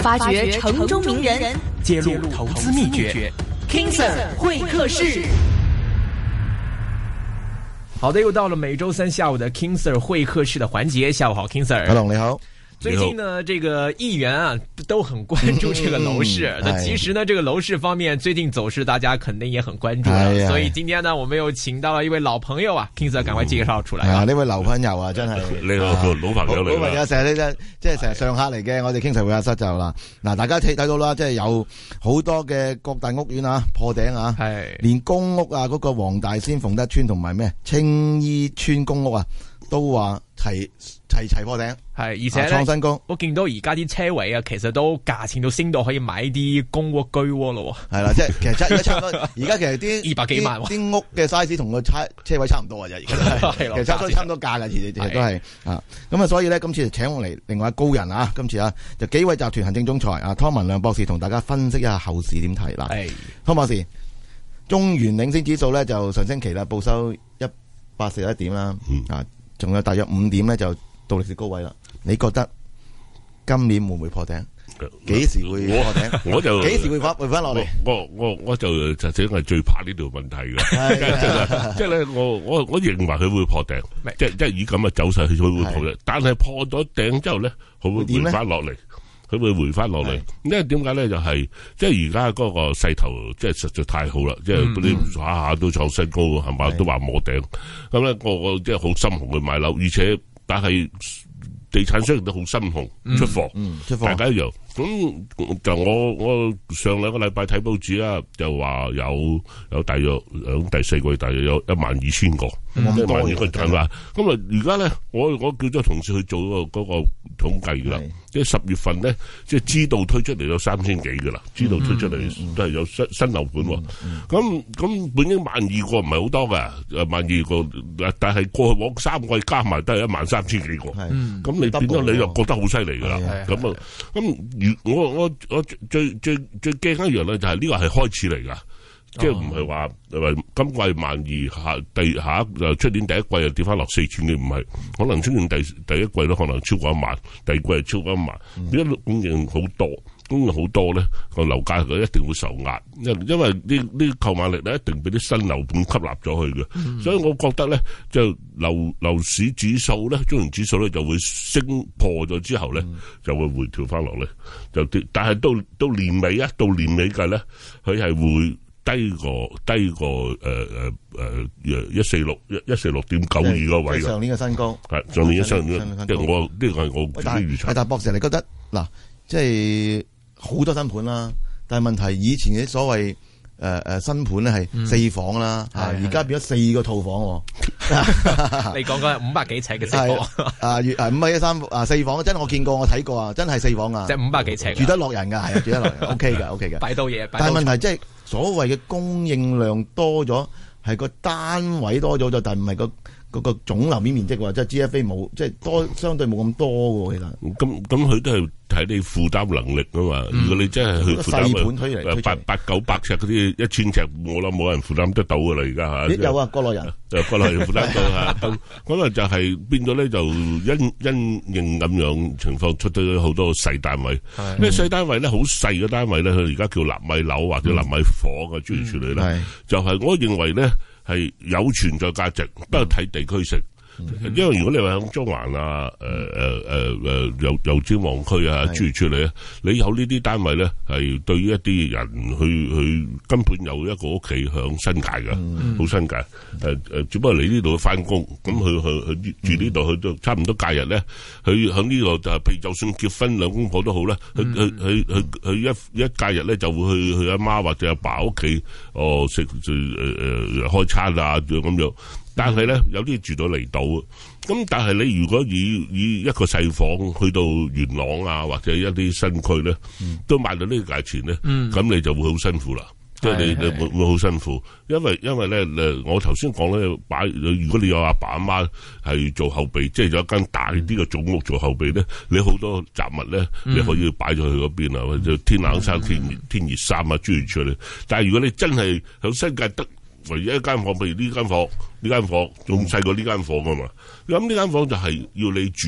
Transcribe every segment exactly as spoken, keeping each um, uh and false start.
發掘城中名人， 揭露投資秘訣 King Sir 會客室。 好的，又到了每周三下午的 King Sir 會客室的環節。下午好 ，King Sir。 阿龍你好。 最近呢，這個議員啊都很關注這個樓市。那、嗯、其實呢，這個樓市方面最近走勢，大家肯定也很關注了。哎、所以今天呢，我們又請到了一位老朋友啊 ，King Sir 趕快介紹出來。啊， 呢位老朋友啊，真係你好、啊、老朋友嚟。 老朋友成日呢，即係成日上客嚟嘅。我哋 King Sir 會客室就啦，嗱，大家睇睇到啦，即係有好多嘅各大屋苑啊破頂啊，係連公屋啊，嗰、那個黃大仙鳳德邨同埋咩青衣邨公屋啊，都話齊齊齊破頂， 係而且咧，創新高。我見到而家啲車位啊，其實都價錢都升到可以買啲公屋居屋咯。係啦，即係其實而家差唔多，而家其實啲二百幾萬啲屋嘅 size 同個車車位差唔多啊，而家係其實差唔多差唔多價嘅，其實其實都係啊。咁啊，所以咧今次就請我嚟另外一高人啊，今次啊就紀惠集團行政總裁啊湯文亮博士同大家分析一下後市點睇啦。係湯博士，中原領先指數咧就上星期啦報收一百四十一點啦，啊。仲有大約五點咧，就到歷史高位啦。你覺得今年會唔會破頂？幾時會破頂？ 我就幾時會翻回翻落嚟？ 我我我就實際係最怕呢條問題嘅，即係咧，我我我認為佢會破頂，即係即係以咁嘅走勢佢會破頂。但係破咗頂之後咧，佢會回翻落嚟。佢會回翻落嚟，因為點解咧？就係即係而家嗰個勢頭，即係實在太好啦！即係嗰啲下下都創新高，係嘛？都話摸頂，咁咧我我即係好心紅去買樓，而且但係地產商亦都好心紅出貨，嗯嗯、出貨大家一樣。咁就我我上兩個禮拜睇報紙啊，就話有有大約響第四個月大約有一萬二千個，一萬二個係嘛？咁啊而家咧，我我叫咗同事去做嗰個嗰個統計噶啦，即係十月份咧，即係知道推出嚟有三千幾噶啦，知道推出嚟都係有新新樓盤。咁咁本應萬二個唔係好多噶，誒萬二個，但係過去往三個月加埋都係一萬三千幾個。咁你變咗你又覺得好犀利噶啦。咁啊咁。我我我最最最驚一樣咧，就係呢個係開始嚟噶，即係唔係話話今季萬二下第下一就出年第一季又跌翻落四千嘅，唔係，可能出年第第一季都可能超過一萬，第二季係超過一萬，因為供應好多，供應好多咧個樓價佢一定會受壓，因因為呢呢購買力咧一定俾啲新樓盤吸納咗去嘅，嗯、所以我覺得咧就樓樓市指數咧，中原指數咧就會升破咗之後咧、嗯、就會回調翻落嚟，就跌，但係到到年尾啊，到年尾計咧佢係會。低過低過誒誒誒一四六一一四六點九二個位嘅上年嘅新高係上年嘅新高，即係我呢個係我啲預測。但係博士，你覺得嗱，即係好多新盤啦，但係問題以前嘅所謂誒誒新盤咧係四房啦，而家變咗四個套房。 你講緊五百幾尺嘅四房啊，月啊五百一三啊四房，真係我見過，我睇過啊，真係四房啊， 即係五百幾尺住得落人㗎，係啊，住得落人 OK 嘅 OK 嘅。 擺到嘢， 但係問題即係。所謂嘅供應量多咗，係個單位多咗咗，但係唔係個嗰個總樓面面積喎，即係 G F A 冇，即係多相對冇咁多喎，其實。咁咁佢都係睇你負擔能力啊嘛。嗯、如果你真係去負擔細盤推嚟，八八九百尺嗰啲一千尺，我諗冇人負擔得到㗎啦，而家嚇。有啊，國內人。誒，國內人負擔到嚇，咁可能就係變咗咧，就因因應咁樣情況出咗好多細單位。因為細單位咧，好細嘅單位咧，佢而家叫納米樓或者納米房嘅諸如此類咧，就係我認為咧。係有存在價值，不過睇地區性。嗯、因為如果你話喺中環啊、誒誒誒誒油油尖旺區啊諸如此類咧，你有呢啲單位咧，係對於一啲人去去根本有一個屋企響新界嘅，好、嗯、新界。誒誒、呃，只不過你呢度翻工，咁佢佢佢住呢度，佢都差唔多假日咧，佢響呢度就係，譬如就算結婚兩公婆都好啦，佢佢佢佢佢一一假日咧就會去去阿媽或者阿爸屋企，哦食誒誒開餐啊咁樣。但係咧，有啲住到離島，咁但係你如果以以一個細房去到元朗啊，或者一啲新區咧，嗯、都賣到呢個價錢咧，咁、嗯、你就會好辛苦啦。即係、嗯、你你會會好辛苦，因為因為咧誒，我頭先講咧擺，如果你有阿爸阿媽係做後備，即係有一間大啲嘅總屋做後備咧，你好多雜物咧，你可以擺咗去嗰邊啊，或者天冷衫、天天熱衫啊，諸如此類。但係如果你真係喺新界得唯一一間房，譬如呢間房，呢間房仲細過呢間房噶嘛？咁呢間房就係要你住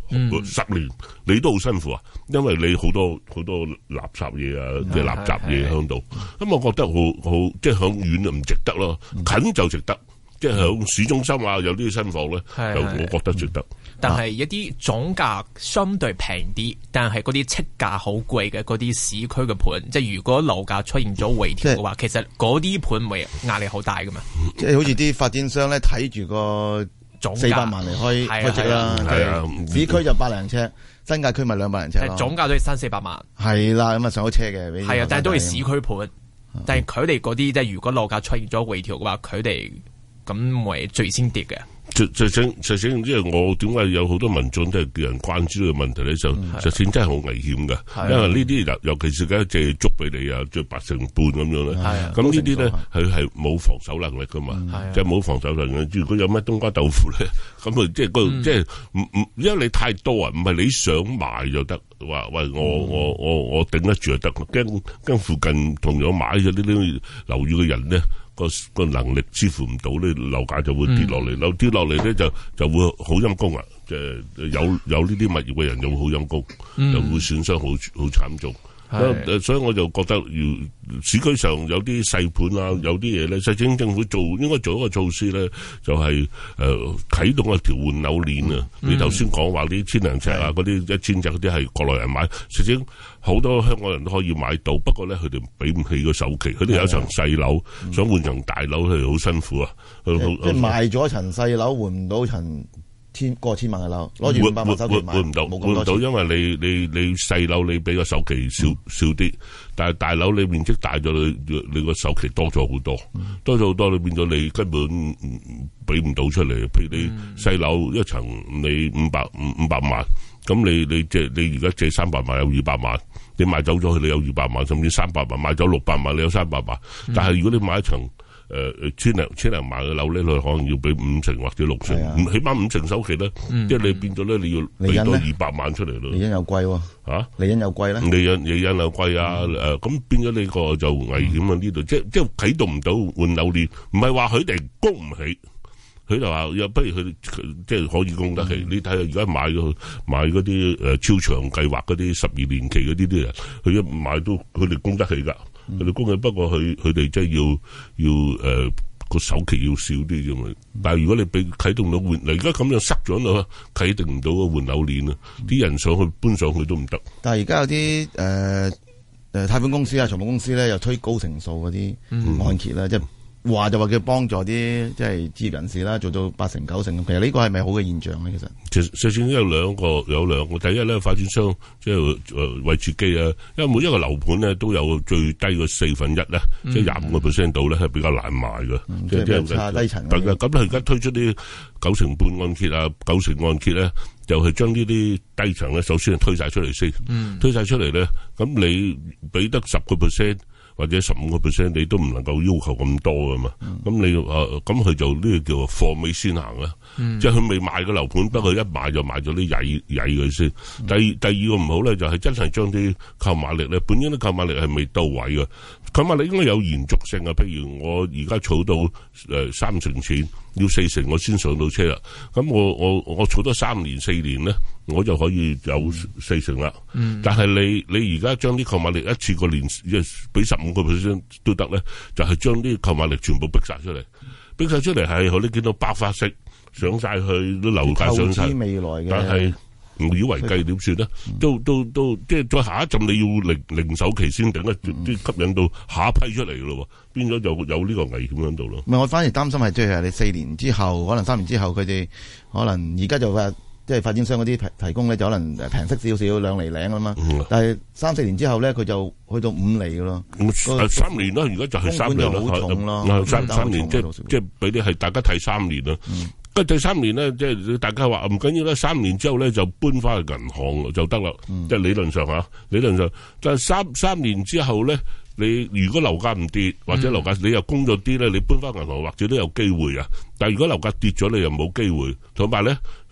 嗯、十年你都好辛苦啊，因為你好多好多垃圾嘢啊，即係垃圾嘢喺度。咁、嗯、我覺得好好，即係響遠就唔值得咯，近就值得。嗯、即係響市中心啊，有啲新房咧，就我覺得值得。 但係一啲總價相對平啲，但係嗰啲呎價好貴嘅嗰啲市區嘅盤，即係如果樓價出現咗回調嘅話，其實嗰啲盤會壓力好大噶嘛。即係好似啲發展商咧睇住個總四百萬嚟開開值啦，係啊，市區就百零尺，新界區咪兩百零尺咯。總價都係三四百萬。係啦，咁啊上咗車嘅。係啊，但係都係市區盤，但係佢哋嗰啲即係如果樓價出現咗回調嘅話，佢哋咁為最先跌嘅。 實實情實情，即係我點解有好多民眾都係叫人關注呢個問題咧？就實情真係好危險嘅，因為呢啲尤尤其是而家借足俾你啊，借八成半咁樣咧。咁呢啲咧佢係冇防守能力噶嘛，即係冇防守能力。如果有咩冬瓜豆腐咧，咁啊即係個即係唔唔，因為你太多啊，唔係你想買就得。話喂，我我我我頂得住就得，驚驚附近同樣買咗呢啲樓宇嘅人咧。個個能力支付唔到咧，樓價就會跌落嚟，樓、嗯、跌落嚟咧就就會好陰功啊！即係有有呢啲物業嘅人就會好陰功，嗯、就會損傷好好慘重。是所以我就覺得，要市區上有啲細盤啊，有啲嘢咧，實際政府做應該做一個措施咧，就係誒啟動一條換樓鏈啊！嗯、你頭先講話啲千零尺啊，嗰啲一千尺嗰啲係國內人買，實際好多香港人都可以買到，不過咧佢哋俾唔起個首期，佢哋有一層細樓，嗯、想換層大樓，佢哋好辛苦啊！即係賣咗層細樓，換唔到層千過千萬嘅樓，攞住五百萬首期買， 換唔到，換唔到，因為你你你細樓你俾個首期少少啲，但係大樓你面積大咗，你你個首期多咗好多，多咗好多，你變咗你根本俾唔到出嚟。譬如你細樓一層你五百五五百萬，咁你你借你而家借三百萬有二百萬，你賣走咗佢你有二百萬，甚至三百萬賣走六百萬你有三百萬，但係如果你買一層。誒誒，千零千零萬嘅樓咧，佢可能要俾五成或者六成，起碼五成首期咧，即係你變咗咧，你要俾多二百萬出嚟咯。 利潤又貴喎，吓，利潤又貴咧。 利潤利潤又貴啊，誒，咁變咗呢個就危險啊！呢度即係即係啟動唔到換樓鏈，唔係話佢哋供唔起，佢就話又不如佢即係可以供得起。你睇下而家買嗰買嗰啲誒超長計劃嗰啲十二年期嗰啲啲人，佢一買都佢哋供得起噶。佢哋供嘅，不過佢佢哋即係要要誒個首期要少啲啫嘛。但係如果你俾啟動到換，嗱而家咁樣塞咗咯，啟動唔到個換樓鏈啊！啲人上去搬上去都唔得。 但係而家有啲誒誒貸款公司啊、財務公司咧，又推高成數嗰啲按揭啦，即係。話就話叫幫助啲即係置業人士啦，做到八成九成。其實呢個係咪好嘅現象咧？其實其實實際有兩個有兩個，第一咧發展商即係誒為自己啊，因為每一個樓盤咧都有最低嘅四分一咧，嗯、即係廿五個 percent 度咧係比較難賣嘅，即係即係差低層。咁佢而家推出啲九成半按揭啊，九成按揭咧，就係將呢啲低層咧，首先係推晒出嚟先，嗯、推晒出嚟咧，咁你俾得十個 percent。或者十五個 percent 你都唔能夠要求咁多噶嘛？咁、嗯、你誒咁佢就呢個叫貨尾先行啦，嗯、即係佢未賣個樓盤，不過一賣就賣咗啲曳曳佢先。嗯、第二第二個唔好咧，就係、是、真係將啲購買力咧，本應啲購買力係未到位嘅，購買力應該有延續性啊。譬如我而家儲到誒、呃、三成錢，要四成我先上到車啦。咁我我我儲多三年四年咧，我就可以有四成啦。嗯、但係你你而家將啲購買力一次過連俾十五個 percent 都得咧，就係將啲購買力全部逼晒出嚟，逼晒出嚟係可你見到爆發式上晒去啲樓價上晒，但係無以為繼點算咧？都都都即係再下一陣你要零零首期先頂得住，啲吸引到下一批出嚟咯，變咗就有呢個危險喺度咯。 唔係，我反而擔心係即係你四年之後，可能三年之後，佢哋可能而家就話。即係發展商嗰啲提提供咧，就可能平息少少兩厘零啊嘛。嗯、但係三四年之後咧，佢就去到五厘噶咯。 嗯、三年啦，而家就係三年好重咯。 嗯、三三年即係即係俾啲係大家睇三年啦。跟住、嗯、第三年咧，即係大家話唔緊要啦。三年之後咧就搬翻去銀行就得啦。嗯、即係理論上嚇，理論上。但係三三年之後咧，你如果樓價唔跌，或者樓價你又供咗啲咧，你搬翻銀行或者都有機會啊。但係如果樓價跌咗，你又冇機會。同埋咧。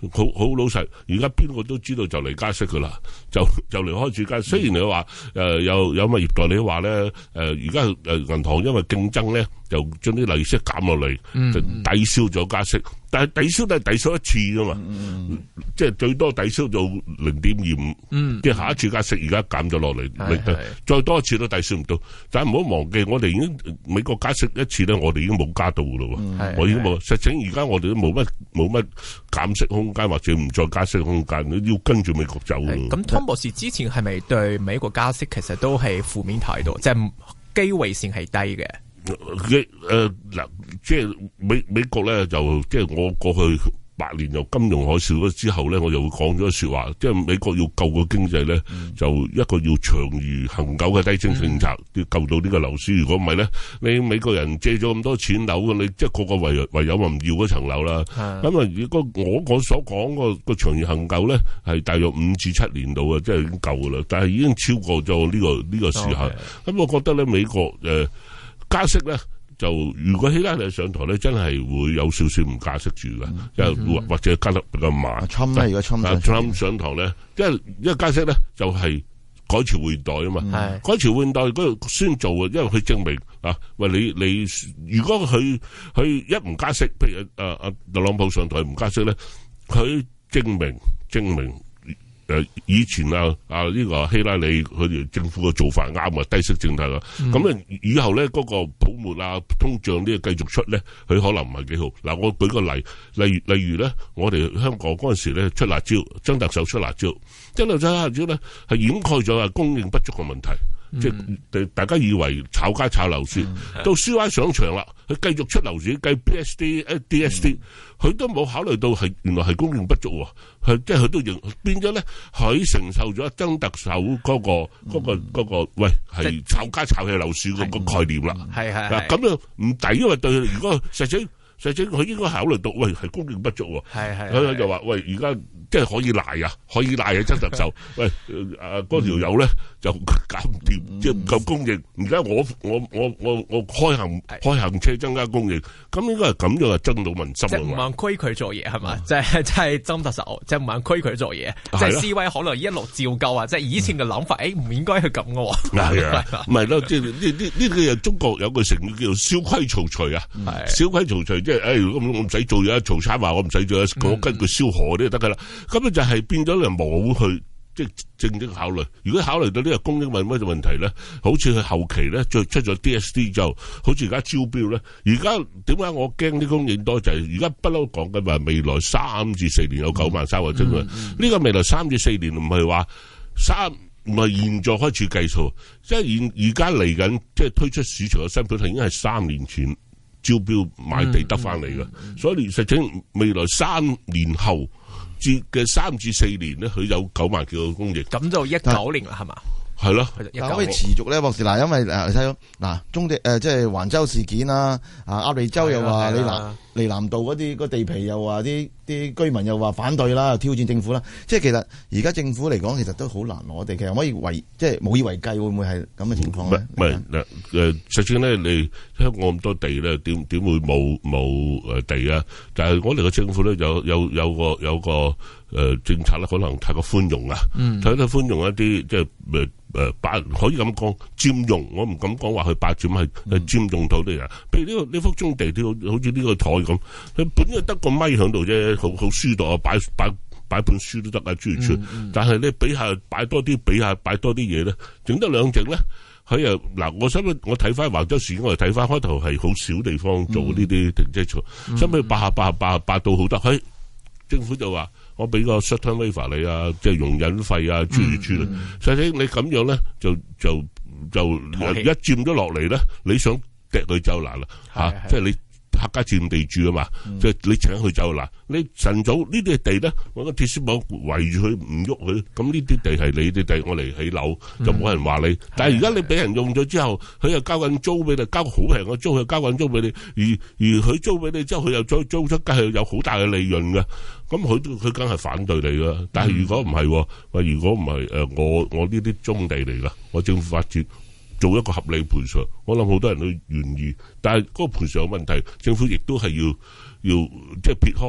好好老實，而家邊個都知道就嚟加息噶啦，就就嚟開始加息。雖然你話誒有有物業代理話咧，誒而家誒銀行因為競爭咧，就將啲利息減落嚟，就抵消咗加息。但係抵消都係抵消一次噶嘛，嗯、即係最多抵消到零點二五，即係下一次加息而家減咗落嚟，再多一次都抵消唔到。但係唔好忘記，我哋已經美國加息一次咧，我哋已經冇加到噶咯。嗯、我已經冇，實情而家我哋都冇乜冇乜減息空間，或者唔再加息空間，要跟住美國走。 咁湯博士之前係咪對美國加息其實都係負面態度，即係機會性係低嘅？ 誒嗱，即係美美國咧，就即係我過去八年由金融海嘯咗之後咧，我就會講咗說話，即係美國要救個經濟咧，嗯、就一個要長而恒久嘅低息政策，要、嗯、救到呢個樓市。如果唔係咧，你美國人借咗咁多錢樓，你即係個個唯唯有咪唔要嗰層樓啦。咁啊，如果我我所講個個長而恒久咧，係大約五至七年度啊，即係已經夠噶啦。但係已經超過咗呢、這個呢、這個時候。咁、okay. 我覺得咧，美國誒。呃加息咧，就如果希拉里上台咧，真係會有少少唔加息住嘅，又、嗯、或者加得比較慢。侵咧，而家侵咧，侵上台咧，因為因為加息咧就係、是、改朝換代啊嘛。嗯、改朝換代嗰度先做啊，因為佢證明啊，喂你你如果佢佢一唔加息，譬如啊啊特朗普上台唔加息咧，佢證明證明。誒，以前啊啊呢、這個希拉里佢哋政府嘅做法啱啊，低息政策啊，咁咧、嗯、以後咧嗰、那個泡沫啊通脹呢個繼續出咧，佢可能唔係幾好。嗱，我舉個例，例如例如咧，我哋香港嗰陣時咧出辣椒，曾特首出辣椒，曾特首出辣椒咧係掩蓋咗啊供應不足嘅問題。嗯、即係大家以為炒家炒樓市，嗯、到 C Y 上場啦，佢繼續出樓市，計 P S D、D S D，佢都冇考慮到係原來係供應不足喎，佢即係佢都認變咗咧，佢承受咗曾特首嗰、嗰個嗰、嗯嗰個嗰、嗰個喂係炒家炒起樓市嗰個概念啦，係係嗱咁樣唔抵，因為對如果實際實際佢應該考慮到喂係供應不足喎，係係佢就話喂而家。即係可以賴啊，可以賴啊！曾特首，喂，誒嗰條友咧就搞唔掂，即係唔夠供應。而家我我我我我開行開行車增加供應，咁應該係咁樣啊，爭到民心。 即係唔肯規佢做嘢係嘛？即係即係曾特首，即係唔肯規佢做嘢。即係 C Y 可能一路照舊啊！即係以前嘅諗法，誒唔應該係咁嘅喎。係啊，唔係咯，即係呢呢呢個又中國有個成語叫做蕭規曹隨啊。蕭規曹隨即係誒，如果我唔使做嘢，曹參話我唔使做，我跟佢蕭何都得㗎啦。咁咧就係變咗你冇去即係正正考慮。如果考慮到呢個供應問乜嘅問題咧，好似佢後期咧再出咗 D S D 就，好似而家招標咧。而家點解我驚啲供應多？就係而家不嬲講緊話未來三至四年有九萬三個啫嘛。呢個未來三至四年唔係話三唔係現在開始計數，即係現而家嚟緊即係推出市場嘅新盤係已經係三年前招標買地得翻嚟嘅，嗯嗯、所以實際未來三年後。至嘅三至四年咧，佢有九萬幾個供應，咁就一九年啦，係嘛？係咯， 但可以持續咧，博士嗱，因為誒，你睇到嗱，中地誒，即係環州事件啦，啊，鴨脷洲又話你南離南道嗰啲個地皮又話啲啲居民又話反對啦，挑戰政府啦，即係其實而家政府嚟講，其實都好難攞地，其實可以為即係無以為繼，會唔會係咁嘅情況咧？ 唔係嗱誒，實際咧，你香港咁多地咧，點點會冇冇誒地啊？但係我哋嘅政府咧，有有有個有個誒政策咧，可能太過寬容啊，太過寬容一啲即係誒。誒，霸可以咁講佔用，我唔敢講話去霸佔，係係佔用土地啊。譬如呢個呢幅棕地，好似呢個台咁，佢本來得個咪喺度啫，好好書度啊，擺擺擺本書都得啊，諸如此類。但係咧，比下擺多啲，比下擺多啲嘢咧，整得兩隻咧，佢又嗱，我想我睇翻橫州市，我哋睇翻開頭係好少地方做呢啲停車場，收尾霸下霸下霸下霸到好得，喺政府就話。我俾個 short-term waiver 你啊，即係容忍費啊，諸如此類。實際你咁樣咧，就就就一佔咗落嚟咧，你想趯佢走難啦嚇，即係你客家佔地主啊嘛，即係你請佢走難。你晨早呢啲地咧，揾個鐵絲網圍住佢唔喐佢，咁呢啲地係你啲地，我嚟起樓就冇人話你。但係而家你俾人用咗之後，佢又交緊租俾你，交好平嘅租，佢交緊租俾你，而而佢租俾你之後，佢又再租出街，係有好大嘅利潤嘅。咁佢佢梗係反對你噶，但係如果唔係，喂，如果唔係誒，我我呢啲棕地嚟噶，我政府發展做一個合理賠償，我諗好多人都願意。但係嗰個賠償有問題，政府亦都係要要即係撇開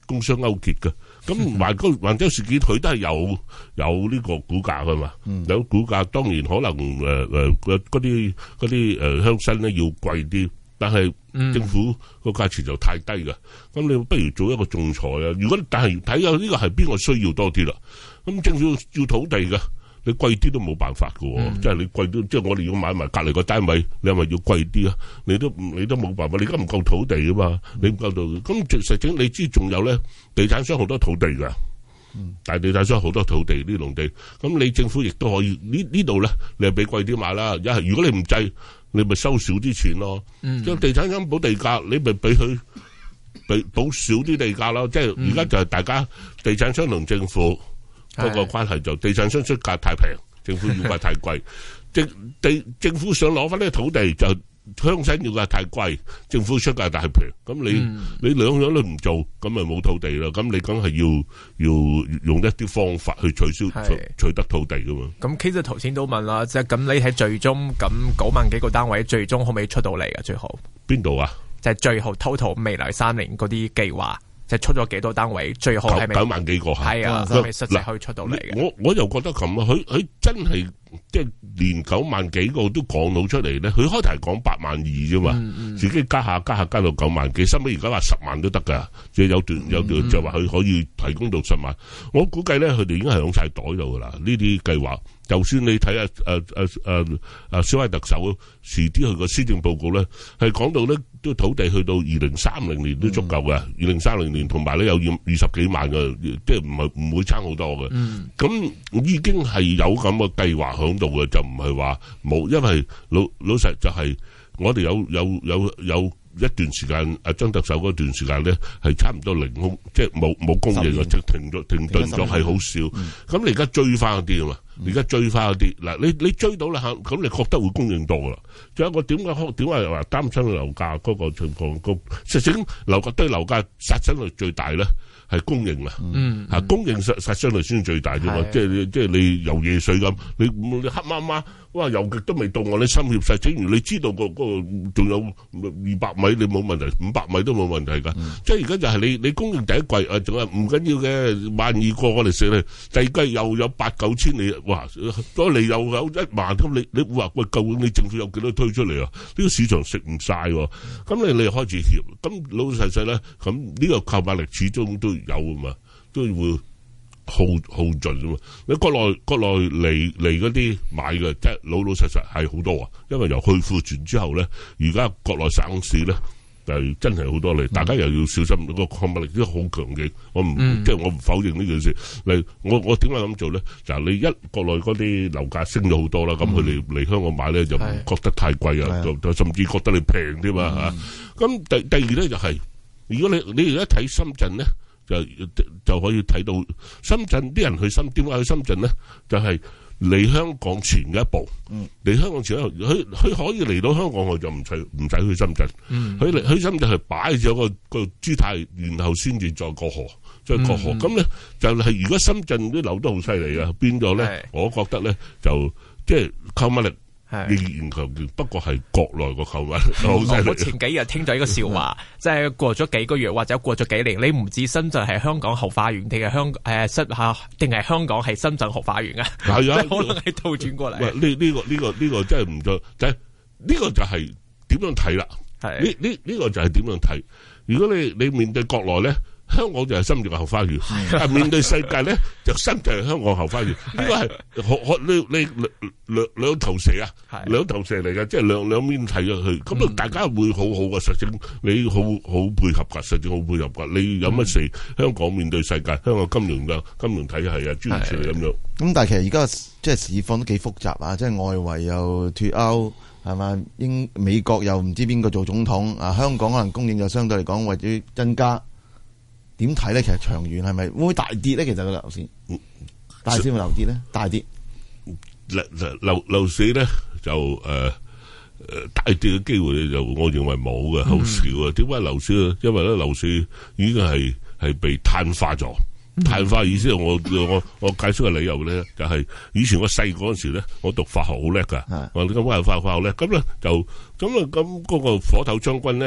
工商勾結嘅。咁橫州橫州事件佢都係有有呢個股價噶嘛，嗯、有股價當然可能誒誒嗰啲嗰啲誒鄉紳咧要貴啲，但係政府個價錢就太低㗎。咁、嗯、你不如做一個仲裁啊！如果但係睇下呢個係邊個需要多啲啦，咁政府要土地㗎。你貴啲都冇辦法㗎喎，嗯、即係你貴啲，即係我哋要買埋隔離個單位，你係咪要貴啲啊？你都你都冇辦法，你而家唔夠土地啊嘛，你唔夠到，咁實情你知仲有咧，地產商好多土地㗎，嗯、但係地產商好多土地呢農地，咁你政府亦都可以呢呢度咧，你係俾貴啲買啦，一係如果你唔制，你咪收少啲錢咯，嗯、即係地產商補地價，你咪俾佢俾補少啲地價咯，即係而家就係大家地產商同政府。嗰個關係就地產商出價太平，政府要價太貴。政地政府想攞翻呢個土地，就鄉紳要價太貴，政府出價太平。咁你、嗯、你兩樣都唔做，咁咪冇土地啦。咁你梗係要要用一啲方法去取消取，取得土地噶嘛。咁其實頭先都問啦，即係咁你喺最終咁九萬幾個單位，最終可唔可以出到嚟啊？最後邊度啊？就係最後 total 未來三年嗰啲計劃。就出咗幾多單位？最後係咪九萬幾個？ 係啊，係咪實際可以出到嚟嘅？ 我我又覺得咁啊，佢佢真係即係連九萬幾個都講到出嚟咧。佢開頭係講八萬二啫嘛，嗯嗯、自己加下加下加到九萬幾，收尾而家話十萬都得噶。即係有段有段就話佢可以提供到十萬。我估計咧，佢哋已經係響晒袋度噶啦。呢啲計劃，就算你睇下誒誒誒誒小威特首遲啲佢個施政報告咧，係講到咧都土地去到二零三零年都足夠嘅。二零三零年同埋咧有二二十幾萬嘅，即係唔係唔會差好多嘅。咁、嗯、已經係有咁嘅計劃響度嘅，就唔係話冇。因為老老實就係我哋有有有有一段時間，阿張特首嗰段時間咧係差唔多零空，即係冇冇供應，即係停咗停頓咗，係好少。咁、嗯、你而家追翻啲啊嘛？而家追翻啲嗱，你你追到啦嚇，咁你覺得會供應多噶啦？仲有一個點解點解話擔心樓價嗰個情況高？實際樓價對樓價殺傷力最大咧係供應啊！嗯，嚇供應殺殺傷力先最大啫嘛！即係即係你游夜水咁，你你黑媽媽哇游極都未到我，你心怯曬。正如你知道個嗰個仲有二百米，你冇問題，五百米都冇問題㗎。即係而家就係你你供應第一季啊，仲係唔緊要嘅，萬二個我哋食咧，第二季又有八九千你。哇！再嚟又有一萬咁，你你話喂，究竟你政府有幾多推出嚟啊？呢個市場食唔晒喎，咁你你開始協，咁老老實實咧，咁呢個購買力始終都有啊嘛，都會耗耗盡啊嘛。你國內國內嚟嚟嗰啲買嘅，即係老老實實係好多啊，因為由去庫存之後咧，而家國內省市咧。係真係好多嚟，大家又要小心。個購買力都好強勁，我唔、嗯、即係我唔否認呢件事。嚟我我點解咁做咧？就係、是、你一國內嗰啲樓價升咗好多啦，咁佢哋嚟香港買咧就唔覺得太貴啊，就就甚至覺得你平添嘛嚇。咁、嗯啊、第第二咧就係、是，如果你你而家睇深圳咧，就就可以睇到深圳啲人去深點解去深圳咧？就係、是。嚟香港前嘅一步，嚟、嗯、香港前一步，佢佢可以嚟到香港，佢就唔使唔使去深圳。佢嚟、嗯、去深圳係擺咗個個姿態，然後先至再過河，再過河。咁咧、嗯、就係、是、如果深圳啲樓都好犀利啊，變咗咧，是我覺得咧就即係購買力。仍然強調，不過係國內個購物好犀利。我前幾日聽咗一個笑話，即係過咗幾個月或者過咗幾年，你唔知深圳係香港後花園定係香誒深吓，定係香港係深圳後花園啊？係啊，可能係倒轉過嚟。喂，呢呢個呢個呢個真係唔錯，就係呢個就係點樣睇啦？係呢呢呢個就係點樣睇？如果你你面對國內咧。香港就係深圳嘅後花園，但係面對世界咧，就深圳係香港後花園。呢個係可可你你兩兩兩頭蛇啊，兩頭蛇嚟嘅，即係兩兩邊睇咗去。咁啊，大家會好好嘅，實證你好好配合㗎，實證好配合㗎。你有乜事？香港面對世界，香港金融嘅金融體系啊，諸如此類咁樣。咁但係其實而家即係市況都幾複雜啊，即係外圍又脫歐係嘛，英美國又唔知邊個做總統啊，香港可能供應就相對嚟講為咗增加。點睇咧？其實長遠係咪會唔會大跌咧？其實個樓市，大市會樓跌咧？大跌樓樓樓市咧就誒誒、呃、大跌嘅機會咧就我認為冇嘅，好少啊。點解樓市咧？因為咧樓市已經係係被碳化咗。碳化意思我我我解釋嘅理由咧，就係、是、以前我細嗰陣時咧，我讀化學好叻噶，我咁解化化學叻，咁咧就咁啊咁嗰個火頭將軍咧。嗰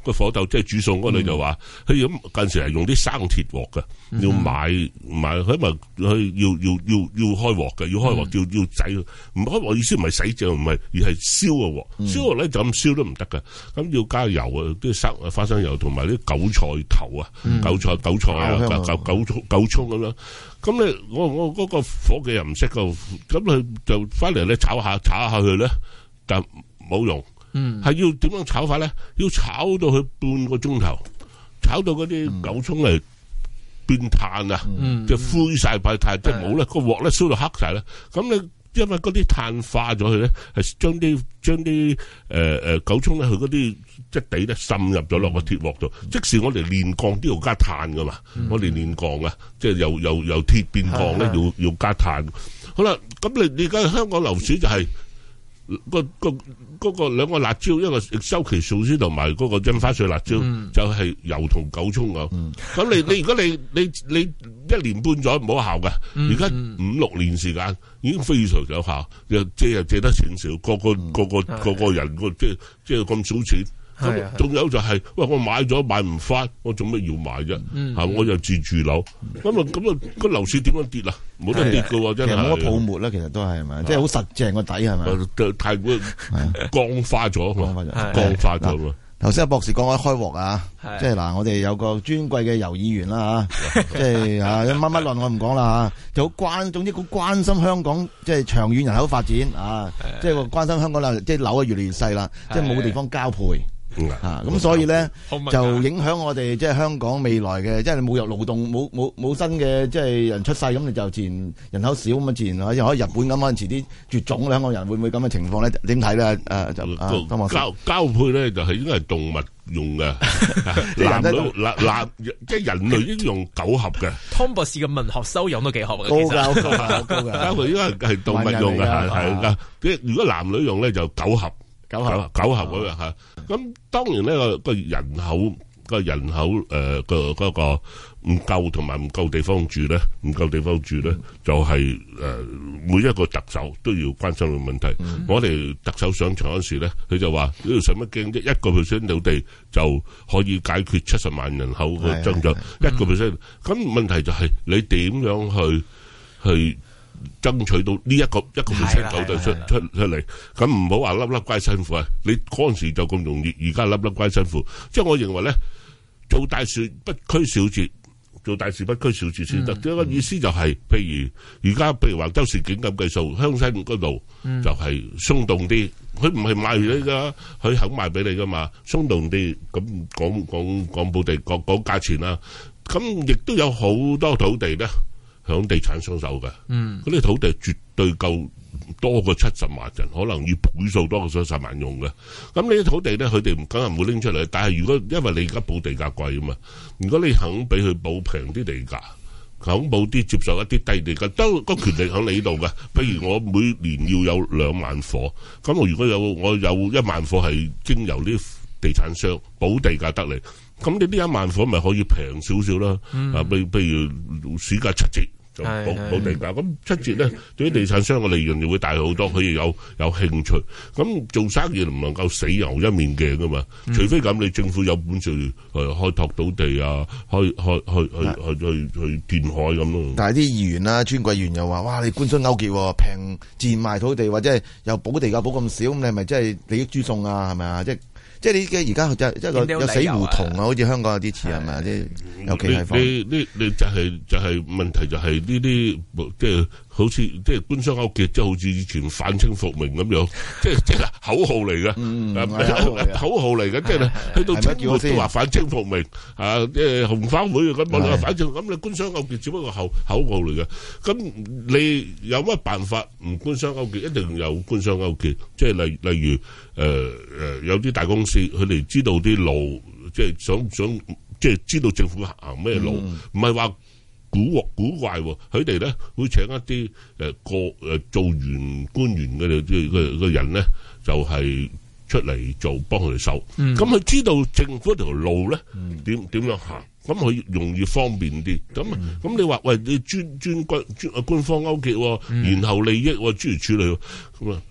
個火豆即係煮餸嗰度就話，佢咁近時係用啲生鐵鑊嘅，要買買，佢咪佢要要要要開鑊嘅，要開鑊要要洗，唔開鑊意思唔係洗淨，唔係而係燒嘅鑊，燒鑊咧就咁燒都唔得嘅，咁要加油啊，啲生花生油同埋啲韭菜頭啊，韭菜韭菜啊，韭韭韭韭葱咁樣。咁咧，我我嗰個伙計又唔識個，咁佢就翻嚟咧炒下炒下佢咧，但冇用。嗯，係要點樣炒法咧？要炒到佢半個鐘頭，炒到嗰啲韭葱嚟變炭啊，嗯、就灰晒塊炭，即係冇咧個鑊咧燒到黑晒咧。咁你因為嗰啲炭化咗佢咧，係將啲將啲誒誒韭葱咧，佢嗰啲質地咧滲入咗落個鐵鑊度。嗯、即使我哋煉鋼都要加炭噶嘛，嗯、我哋煉鋼啊，即係由由由鐵變鋼咧，要要加炭。好啦，咁你你而家香港樓市就係、是。個個嗰個兩個辣椒，一個周期素絲同埋嗰個印花稅辣椒，嗯、就係油同韭葱咁。咁、嗯、你你如果你你你一年半載冇效嘅，而家五六年時間已經非常有效，又借又借得錢少，個個個個個個人個即係即係咁少錢。咁仲有就係、是，喂，我買咗買唔翻，我做咩要買啫？吓、嗯，我又自住樓，咁啊咁啊，個樓市點樣跌啊？冇得跌噶喎，真係。其實冇乜泡沫啦，其實都係咪？即係好實淨個底係咪？太過鋼化咗，鋼化咗，鋼化咗嘛。頭先阿博士講開開鑊啊，即係嗱，我哋有個尊貴嘅游議員啦吓，即係啊乜乜論我唔講啦吓，就好關，總之好關心香港即係長遠人口發展啊，即係個關心香港啦，即係樓啊越嚟越細啦，即係冇地方交配。啊，咁所以咧就影響我哋即係香港未來嘅，即係冇有勞動冇冇冇新嘅即係人出世，咁你就自然人口少咁啊，自然可以可以日本咁可能遲啲絕種咧，香港人會唔會咁嘅情況咧？點睇咧？誒就啊，交交配咧就係應該係動物用嘅，男女男男即係人類應用九合嘅。湯博士嘅文學修養都幾好嘅， 高噶高噶高噶， 交配應該係動物用嘅，係係噶。即如果男女用咧就九合。九合九合嗰樣吓，咁當然呢個個人口個人口誒個嗰個唔夠同埋唔夠地方住咧，唔夠地方住咧就係誒每一個特首都要關心嘅問題。我哋特首上場嗰時咧，佢就話呢度使乜驚啫？一個 percent 土地就可以解決七十萬人口嘅增長，一個 percent。咁問題就係你點樣去去？爭取到呢一個一個 percent 土地出出出嚟，咁唔好話粒粒皆辛苦啊！你嗰陣時就咁容易，而家粒粒皆辛苦。即係我認為咧，做大事不拘小節，做大事不拘小節先得。即係個意思就係，譬如而家譬如話周時景咁計數，鄉紳嗰度就係鬆動啲，佢唔係賣你噶，佢肯賣俾你噶嘛，鬆動啲咁講講講補地講講價錢啦。咁亦都有好多土地咧。響地產商手嘅，嗰啲土地絕對夠多過七十萬人，可能要倍數多過七十萬用嘅。咁呢啲土地咧，佢哋唔梗係唔會拎出嚟。但係如果因為你而家補地價貴啊嘛，如果你肯俾佢補平啲地價，肯補啲接受一啲低地價，都個權力喺你度嘅。譬如我每年要有兩萬伙，咁我如果有我有一萬伙係經由啲地產商補地價得嚟，咁你呢一萬伙咪可以平少少啦。啊，譬譬如市價七折。冇冇地價，咁七折咧，對於地產商嘅利潤就會大好多，佢亦有有興趣。咁做生意唔能夠死牛一面鏡噶嘛，嗯、除非咁你政府有本事誒開拓土地啊，開開開去去去去填海咁咯。但係啲議員啦、尊貴議員又話：哇，你官商勾結，平賤賣土地，或者係又補地價補咁少，咁你係咪真係利益輸送啊？係咪啊？即係。即係你嘅而家就即係個有死胡同啊，好似香港有啲似係咪啊？啲尤其係方，你你你就係就係問題就係呢啲即係好似即係官商勾結，即係好似以前反清復明咁樣，即係即係口號嚟嘅，口號嚟嘅，即係去到清末都話反清復明啊，即係紅花會咁我哋話反正咁你官商勾結只不過口口號嚟嘅，咁你有乜辦法唔官商勾結？一定有官商勾結，即係例例如。誒誒、呃，有啲大公司，佢哋知道啲路，即係想想，即係知道政府行咩路，唔係話古惑古怪，佢哋咧會請一啲誒個誒做完官員嘅嘅嘅人咧，就係、是、出嚟做幫佢哋手。咁佢、嗯、知道政府條路咧點點樣行，咁佢容易方便啲。咁咁、嗯、你話喂，你專專軍專官方勾結，然後利益諸如此類咁啊？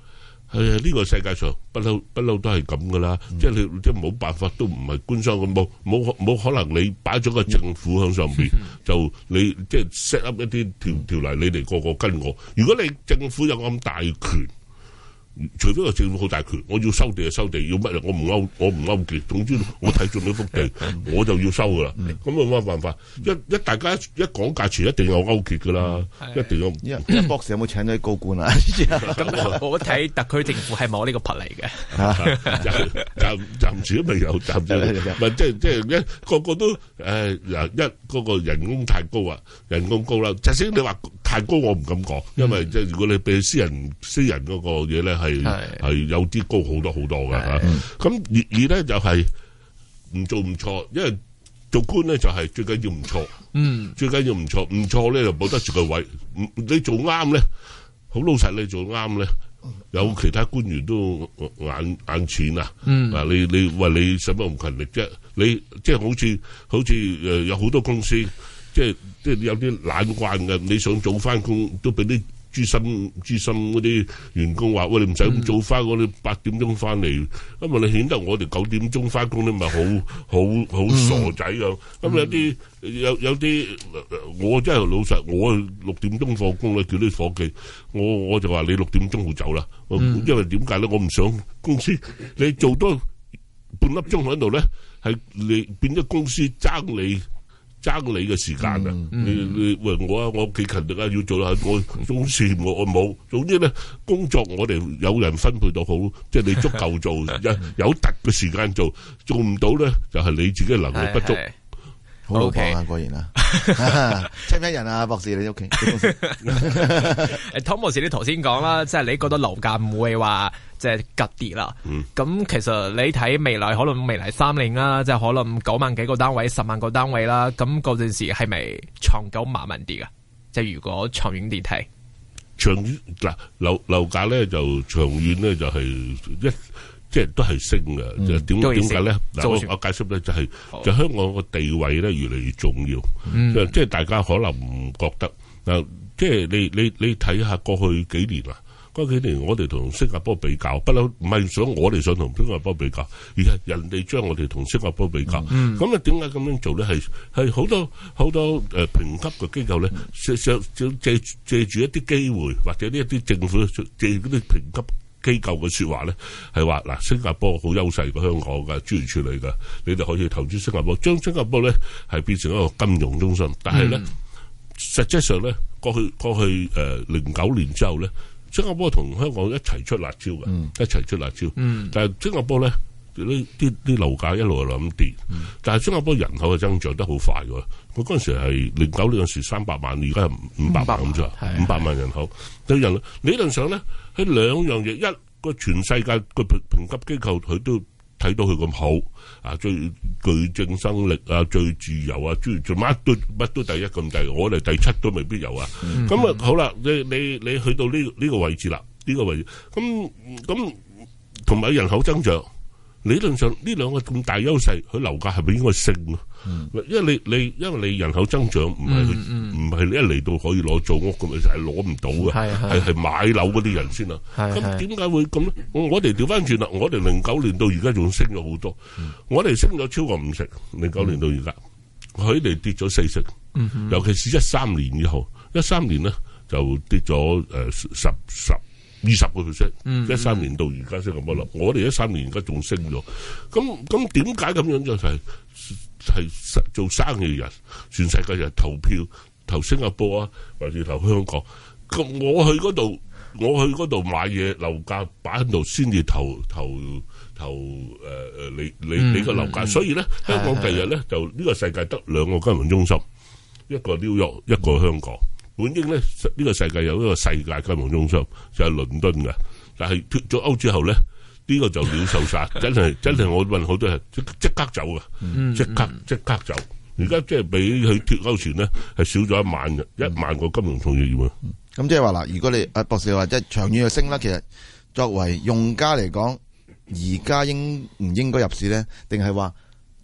係啊，呢個世界上不嬲不嬲都係咁噶啦，即係你即係冇辦法，都唔係官商咁，冇冇冇可能你擺咗個政府喺上邊，就你即係 set up 一啲條條例，你哋個個跟我。如果你政府有咁大權，除非個政府好大權，我要收地就收地，要乜我唔勾我唔勾結，總之我睇中呢幅地我就要收噶啦。咁有乜辦法？一一大家一講價錢，一定有勾結噶啦，一定有。 一博士有冇請到啲高官啊？ 咁我睇特區政府係冇呢個魄力嘅， 暫暫時都未有，暫時唔係即係即係一個個都誒一嗰個人工太高啊，人工高啦。即使你話太高，我唔敢講，因為即係如果你俾私人私人嗰個嘢咧係。係係有啲高好多好多㗎吓，咁而而咧就係唔做唔錯，因為做官咧就係最緊要唔錯，嗯，最緊要唔錯，唔錯咧就保得住個位，你做啱咧，好老實你做啱咧，有其他官員都眼眼淺啊，嗯，啊你你話你使乜咁勤力啫？你即係好似好似誒有好多公司，即係即係有啲懶慣嘅，你想早翻工都俾啲。資深資深嗰啲員工話：喂，你唔使咁早翻，我哋八點鐘翻嚟，因為你顯得我哋九點鐘翻工，你咪好好好傻仔咁。咁有啲有有啲，我真係老實，我六點鐘放工咧，叫啲伙計，我我就話你六點鐘好走啦，因為點解咧？我唔想公司你做多半粒鐘喺度咧，係你變咗公司爭你。爭你嘅時間啊！嗯嗯、你你喂我啊，我幾勤力啊，要做下我中事我我冇。總之咧，工作我哋有人分配到好，即係你足夠做，有有特嘅時間做，做唔到咧就係、是、你自己能力不足。 好老闆啊，果然啊，請唔請人啊，博士你屋企？ 湯博士你頭先講啦，即係你覺得樓價唔會話即係急跌啦。咁、嗯、其實你睇未來可能未來三年啦，即係可能九萬幾個單位、十萬個單位啦。咁嗰陣時係咪長久慢慢啲噶？即係如果長遠啲睇， 長遠嗱樓樓價咧就長遠咧就係一。即係都係升嘅，就點點解咧？嗱，我我解釋咧就係、是，就香港個地位咧越嚟越重要。嗯、即係大家可能唔覺得嗱，即係你你你睇下過去幾年啦，過去幾年我哋同新加坡比較，不嬲唔係想我哋想同新加坡比較，而係人哋將我哋同新加坡比較。咁啊點解咁樣做咧？係係好多好多誒評級嘅機構咧，想想借借住一啲機會，或者呢一啲政府借嗰啲評級。機構嘅說話咧係話嗱，新加坡好優勢過香港嘅諸如此類嘅，你哋可以投資新加坡，將新加坡咧係變成一個金融中心。但係咧，嗯、實際上咧過去過去誒零九年之後咧，新加坡同香港一齊出辣椒嘅，嗯、一齊出辣椒。嗯、但係新加坡咧呢啲啲樓價一路係咁跌，嗯、但係新加坡人口嘅增長得好快嘅。佢嗰陣時係零九年嗰時三百萬，而家係五百萬咁啫，五百萬人口。對人理論上咧，喺兩樣嘢，一個全世界個評評級機構佢都睇到佢咁好啊，最具競爭力啊，最自由啊，諸如做乜都乜都第一咁第，我哋第七都未必有啊。咁啊、嗯、好啦，你你你去到呢呢個位置啦，呢、這個位置咁咁同埋人口增長。理論上呢兩個咁大優勢，佢樓價係咪應該升啊？嗯、因為你你因為你人口增長唔係唔係你一嚟到可以攞做屋咁，就係攞唔到嘅，係係買樓嗰啲人先啊。咁點解會咁咧？我哋調翻轉啦，我哋零九年到而家仲升咗好多，嗯、我哋升咗超過五成，零九年到而家，佢哋、嗯、跌咗四成，嗯、哼尤其是一三年以後，一三年咧就跌咗誒十十。二十個 percent， 一三年到而家升咁多啦。我哋一三年而家仲升咗，咁咁點解咁樣就係、是、係做生意人，全世界人投票投新加坡啊，或者投香港。咁我去嗰度，我去嗰度買嘢，樓價擺喺度先至投投投誒誒，你你你個樓價。所以咧，香港第日咧就呢個世界得兩個金融中心，一個紐約，一個香港。本應咧，呢、這個世界有一個世界金融中心就係、是、倫敦嘅，但係脫咗歐之後咧，呢、這個就鳥獸散，真係真係我問好多人即即刻走嘅，即刻即刻走。而家即係比佢脫歐前咧係少咗一萬一萬個金融從業員。咁、 嗯、即係話嗱，如果你阿博士話即係長遠去升啦，其實作為用家嚟講，而家應唔應該入市咧？定係話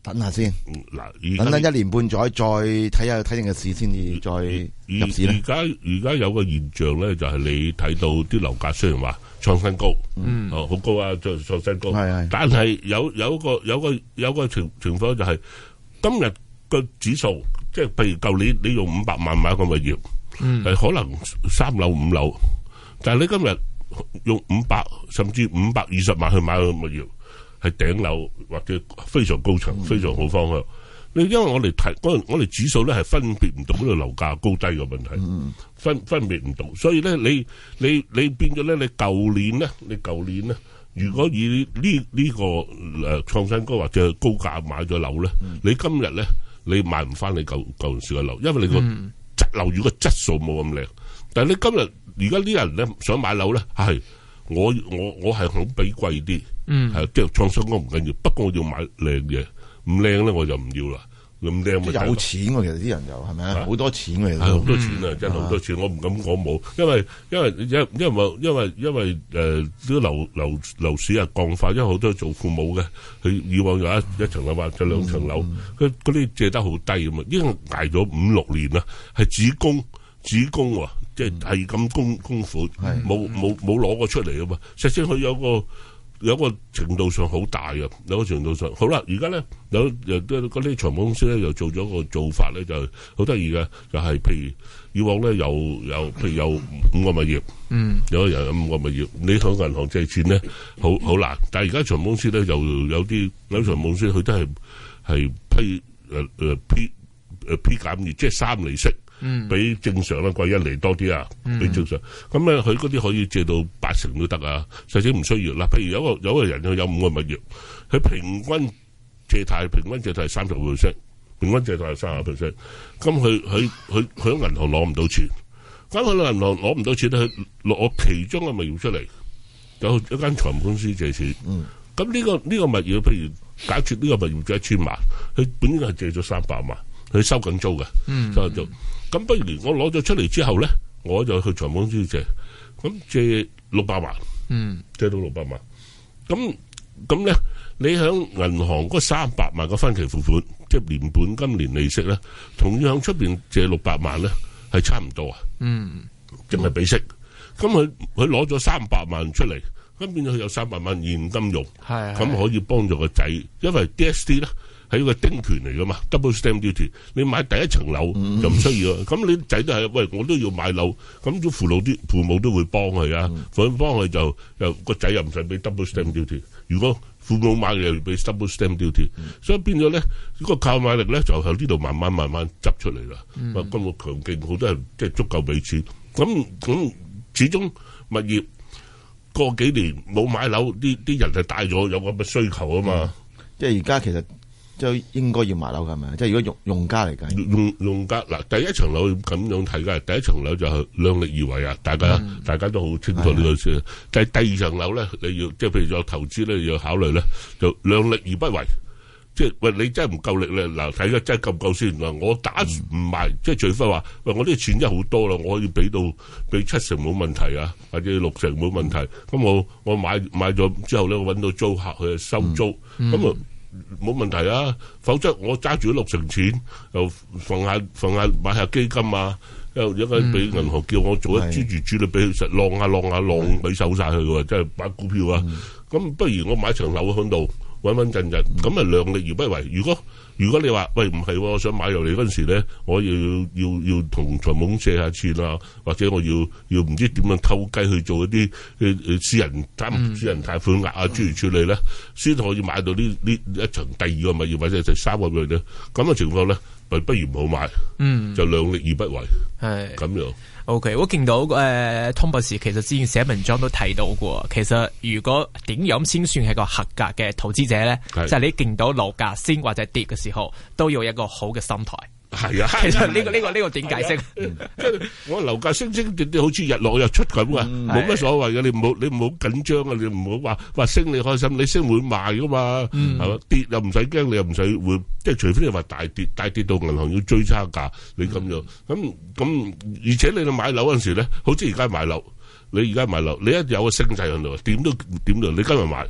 等下先。 嗱， 等等一年半載再睇下睇定嘅市先至再入市咧。 而家而家有個現象咧，就係你睇到啲樓價雖然話創新高，嗯，哦好高啊，再創新高，係係。但係有有個有個有個情情況就係今日個指數，即係譬如舊年你用五百萬買個物業，嗯，係可能三樓五樓，但係你今日用五百甚至五百二十萬去買個物業，係頂樓或者非常高層、非常好方向。你因為我哋睇嗰我哋指數咧係分別唔到嗰個樓價高低嘅問題，分分別唔到，所以咧你你你變咗咧，你舊年咧，你舊年咧，如果以呢呢個誒創新高或者高價買咗樓咧，你今日咧你買唔翻你舊舊陣時嘅樓，因為你個質樓宇個質素冇咁靚。但係你今日而家啲人咧想買樓咧，係我我我係肯俾貴啲，係即係創新高唔緊要，不過我要買靚嘢。唔靚咧我就唔要啦，咁靚咪有錢喎，其實啲人就係咪啊？好多錢嘅， 係好多錢啊！真係好多錢，我唔敢講冇，因為因為因因為因為因為誒啲樓樓樓市啊降快，因為好多做父母嘅，佢以往有一一層樓或者兩層樓，佢嗰啲借得好低咁啊，已經捱咗五六年啦，係只供只供喎，即係係咁供供款，冇冇冇攞過出嚟啊嘛，實際佢有個。有個程度上好大嘅，有個程度上好啦。而家咧有有啲嗰啲財務公司咧又做咗個做法咧，就好得意嘅，就係、是、譬如以往咧有有譬如有五個物業，嗯，有個人有五個物業，你向銀行借錢咧好好難。但係而家財務公司咧又有啲有財務公司佢都係係批誒誒批誒批減二，即係三厘息。嗯，比正常咧貴一厘多啲啊，比正常。咁咧佢嗰啲可以借到八成都得啊，實際唔需要。嗱，譬如有個有個人佢有五個物業，佢平均借貸平均借貸係三十個 percent，平均借貸係三十個 percent。咁佢佢佢佢喺銀行攞唔到錢，咁佢喺銀行攞唔到錢咧，佢攞其中嘅物業出嚟，有一間財務公司借錢。嗯，咁呢個呢個物業，譬如假設呢個物業借一千萬，佢本應係借咗三百萬，佢收緊租嘅，收緊租。咁不如我攞咗出嚟之後咧，我就去財務公司借，咁借六百萬，嗯，借到六百萬，咁咁咧，你響銀行嗰三百萬個分期付款，即係年本金年利息咧，同樣出邊借六百萬咧，係差唔多啊，嗯，淨係俾息，咁佢佢攞咗三百萬出嚟，咁變咗佢有三百萬現金用，係，咁可以幫助個仔，因為 D S D 咧。係一個丁權嚟噶嘛 ，double stamp duty。你買第一層樓就唔需要，咁、嗯、你仔都係，喂，我都要買樓，咁啲父老啲父母都會幫佢啊，佢、嗯、幫佢就又個仔又唔使俾 double stamp duty。如果父母買又要俾 double stamp duty，、嗯、所以變咗咧，呢個購買力咧就喺呢度慢慢慢慢執出嚟啦。咁、嗯、個強勁，好多人即係足夠俾錢。咁咁始終物業過幾年冇買樓，啲啲人係大咗，有咁嘅需求啊嘛。嗯、 即係而家其實。就應該要買樓㗎嘛？即係如果用用家嚟計， 用用家嗱，第一層樓咁樣睇嘅，第一層樓就係量力而為啊！大家、嗯、大家都好清楚呢個事。但係第二層樓咧，你要即係譬如有投資咧，要考慮咧，就量力而不為。即係喂，你真係唔夠力咧，嗱睇下真係夠唔夠先。嗱，我打唔埋，即係除非話喂，我啲錢真係好多啦，我可以俾到俾七成冇問題啊，或者六成冇問題。咁我我買買咗之後咧，我揾到租客去收租，咁、嗯、啊。嗯冇問題啊，否則我揸住六成錢，又放下放下買下基金啊，又一間俾銀行叫我做一專注主力俾佢實浪下浪下浪俾手晒佢嘅，即係買股票啊。咁、嗯、不如我買層樓喺度穩穩陣陣，咁啊量力而不為。如果如果你話喂唔係，我想買入嚟嗰陣時咧，我要要要同財務公司借下錢啊，或者我要要唔知點樣偷雞去做一啲誒誒私人擔、嗯、私人貸款額啊諸如此類咧，先可以買到呢呢一層第二個物業或者第三個物業咧。咁嘅情況咧，不不如唔好買，嗯，就量力而不為，係咁樣。 O、okay, K， 我見到誒、呃，湯博士其實之前寫文章都提到過，其實如果點樣先算係個合格嘅投資者咧，就係、是、你見到樓價升或者跌嘅時候，都要有一個好嘅心態。 係啊， 其實呢、這個呢、這個呢、這個點解釋？ 即係我樓價升升跌跌，好似日落日出咁啊，冇乜所謂嘅。你唔好你唔好緊張啊，你唔好話話升你開心，你升會賣噶嘛，係、嗯、嘛？跌又唔使驚，你又唔使會，即係除非你話大跌，大跌到銀行要追差價，你咁樣咁咁，而且你去買樓嗰陣時咧，好似而家買樓，你而家買樓，你一有個升勢喺度，點都點都，你今日買。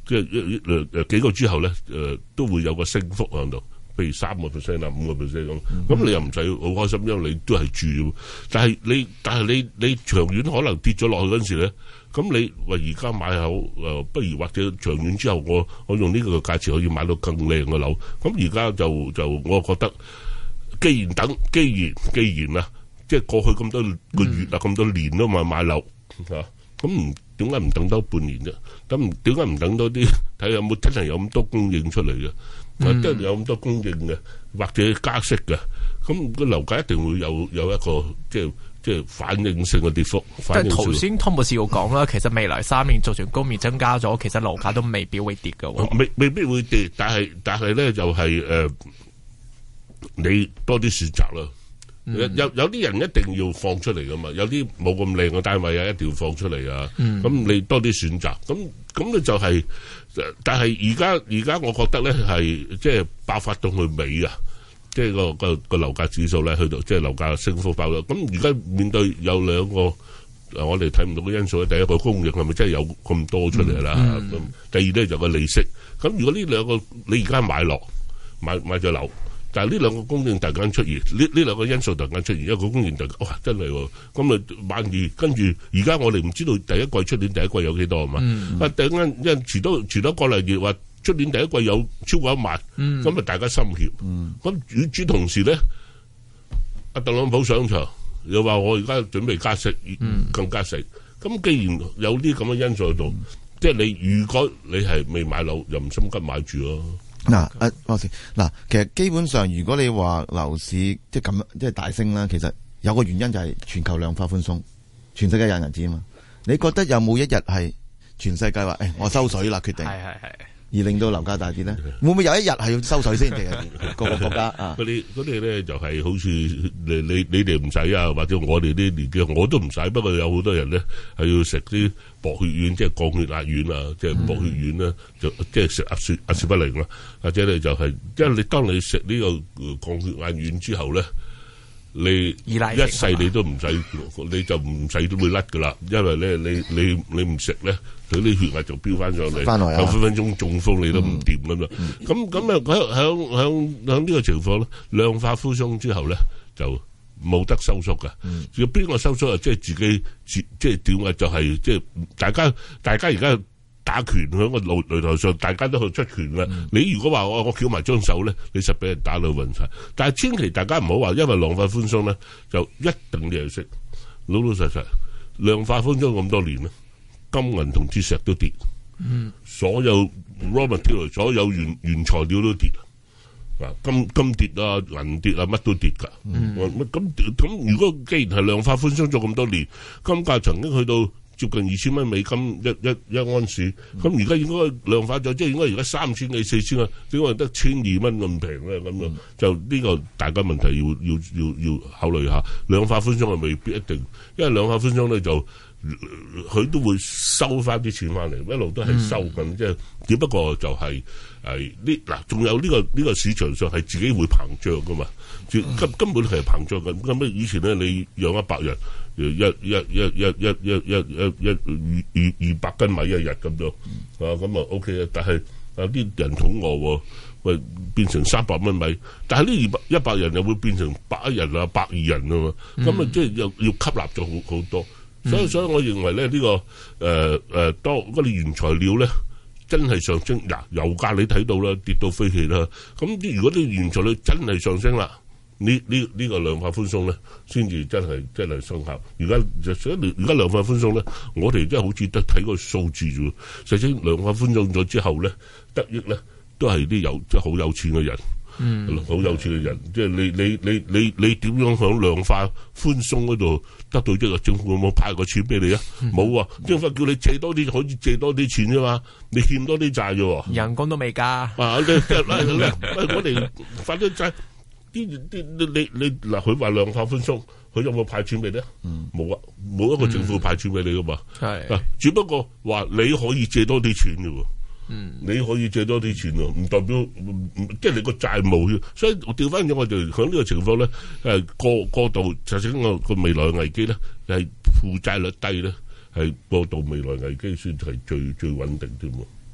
即係誒誒幾個之後咧，誒都會有個升幅喺度，譬如三個 percent 啊，五個 percent 咁。咁、嗯、你又唔使好開心，因為你都係住。但係你但係你你長遠可能跌咗落去嗰陣時咧，咁你話而家買樓誒，不如或者長遠之後我我用呢個價錢可以買到更靚嘅樓。咁而家就就我覺得，既然等，既然既然啊，即係過去咁多個月啊，咁、嗯、多年都買買樓嚇。咁唔點解唔等多半年啫？咁點解唔等多啲睇下有冇真係有咁多供應出嚟嘅？嗯、真係有咁多供應嘅，或者加息嘅，咁個樓價一定會有有一個即係即係反應性嘅跌幅。 但係頭先湯博士有講啦，其實未來三年就算供應增加咗，其實樓價都未必會跌嘅。 未未必會跌，但係但係咧就係、是、誒、呃，你多啲選擇啦。有有有啲人一定要放出嚟噶嘛，有啲冇咁靚嘅單位啊，一定要放出嚟啊。咁、嗯、你多啲選擇，咁咁咧就係、是，但係而家而家我覺得咧係即係爆發到去尾啊，即係個個個樓價指數咧去到即係樓價升幅爆咗。咁而家面對有兩個我哋睇唔到嘅因素咧，第一個供應係咪真係有咁多出嚟啦？咁、嗯、第二咧就個利息。咁如果呢兩個你而家買落買買咗樓。但係呢兩個供應突然間出現，呢呢兩個因素突然間出現，一個供應突然間哇真係喎，咁啊萬二，跟住而家我哋唔知道第一季出年第一季有幾多啊嘛，啊突然間因為遲多遲多個嚟月話出年第一季有超過一萬，咁、嗯、啊大家心怯，咁與此同時咧，阿特朗普上場又話我而家準備加息，更加息，咁、嗯、既然有啲咁嘅因素喺度，嗯、即係你如果你係未買樓，又唔心急買住咯。 嗱，阿博士，嗱，其實基本上，如果你話樓市即係咁，即係大升啦，其實有個原因就係全球量化寬鬆，全世界印銀紙啊嘛。你覺得有冇一日係全世界話，誒，我收水啦，決定，係係係，而令到樓價大跌咧？會唔會有一日係要收水先？定係各個國家啊？嗰啲嗰啲咧就係好似你你你哋唔使啊，或者我哋啲年紀我都唔使，不過有好多人咧係要食啲薄血丸，即係降血壓丸啊，即係薄血丸啦，就即係食阿雪阿士不靈啦，或者你就係、是，因為你當你食呢個降血壓丸之後咧，你一世你都唔使，你就唔使都會甩噶啦，因為咧你你你唔食咧，佢啲血壓就飆翻上嚟，有分分鐘中風你都唔掂咁樣。咁咁啊喺喺喺喺呢個情況咧，量化寬鬆之後咧就冇得收縮噶。要邊個收縮啊？即係自己自即係點啊？就係即係大家大家而家打拳喺個擂擂台上，大家都去出拳啦。嗯、你如果話我我翹埋張手咧，你實俾人打到暈晒。但係千祈大家唔好話，因為量化寬鬆咧就一定你係識老老實實量化寬鬆咁多年咧，金銀同鐵石都跌，嗯、所有 raw material 所有原原材料都跌啊，金金跌啊，銀跌啊，乜都跌噶。咁咁如果既然係量化寬鬆咗咁多年，金價曾經去到接近二千蚊美金一一一盎司，咁而家應該量化咗，即係應該而家三千幾四千啊，點解得千二蚊咁平咧？咁樣就呢個大家問題要要要要考慮下。量化寬鬆係未必一定，因為量化寬鬆咧就佢都會收翻啲錢翻嚟，一路都係收緊，嗯、即係只不過就係係呢嗱，仲有呢個呢個市場上係自己會膨脹噶嘛，根根本係膨脹緊。咁以前咧你養一百人。一一一一一一一一一二二二百斤米一日咁樣，啊咁啊 OK 啊，但係有啲人肚餓，喂變成三百蚊米，但係呢二百一百人又會變成百一人啊，百二人啊嘛，咁啊即係又要吸納咗好好多，所以所以我認為咧呢個誒誒當嗰啲原材料咧真係上升，嗱油價你睇到啦，跌到飛起啦，咁如果啲原材料真係上升啦。呢呢呢個量化寬鬆咧，先至真係真係生效。而家就所以而家量化寬鬆咧，我哋真係好似得睇個數字啫。實際量化寬鬆咗之後咧，得益咧都係啲有即係好有錢嘅人，嗯，好有錢嘅人。即係你你你你你點樣響量化寬鬆嗰度得到即係政府有冇派個錢俾你啊？冇啊，政府叫你借多啲，可以借多啲錢啫嘛。你欠多啲債啫，人工都未加。啊，你即係我哋發咗債。啲啲你你嗱，佢話量化寬鬆，佢有冇派錢俾你啊？冇啊，冇一個政府派錢俾你噶嘛。係嗱，只不過話你可以借多啲錢嘅喎。嗯，你可以借多啲錢喎，唔代表即係你個債務。所以我調翻咗，我就喺呢個情況咧，誒過過度，實際個個未來危機咧，係負債率低咧，係過度未來危機算係最最穩定添喎。